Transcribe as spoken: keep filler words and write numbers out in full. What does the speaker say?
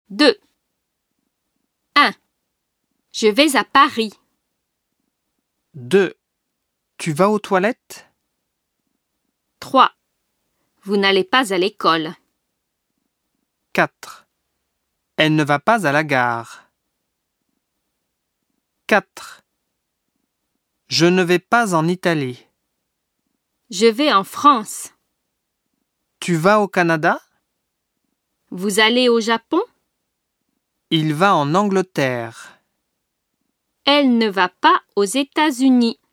deux. un. Je vais à Paris. deux. Tu vas aux toilettes? trois. Vous n'allez pas à l'école. quatre. Elle ne va pas à la gare. quatre. Je ne vais pas en Italie. Je vais en France. Tu vas au Canada? Vous allez au Japon? Il va en Angleterre. Elle ne va pas aux États-Unis.